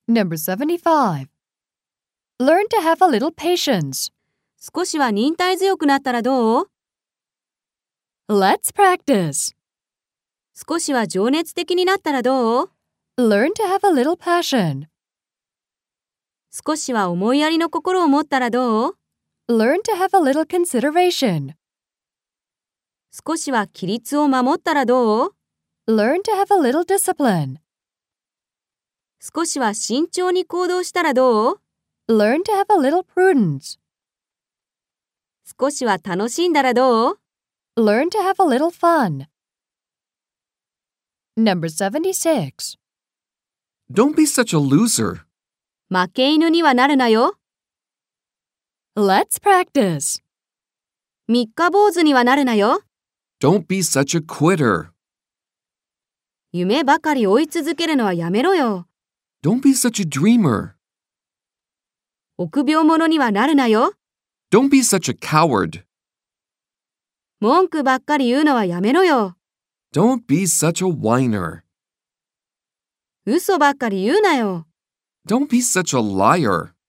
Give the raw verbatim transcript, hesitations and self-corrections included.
Number seventy-five. Learn to have a little patience. 少しは忍耐強くなったらどう？ Let's practice. 少しは情熱的になったらどう？ Learn to have a little passion. 少しは思いやりの心を持ったらどう？ Learn to have a little consideration. 少しは規律を守ったらどう？ Learn to have a little discipline. 少しは慎重に行動したらどう？ Learn to have a little prudence. 少しは楽しんだらどう？ Learn to have a little fun. Number seventy-six. Don't be such a loser. 負け犬にはなるなよ。 Let's practice. 三日坊主にはなるなよ。 Don't be such a quitter. 夢ばかり追い続けるのはやめろよ。 Don't be such a dreamer. 臆病者にはなるなよ。 Don't be such a coward. 文句ばっかり言うのはやめろよ。 Don't be such a whiner. 嘘ばっかり言うなよ。 Don't be such a liar.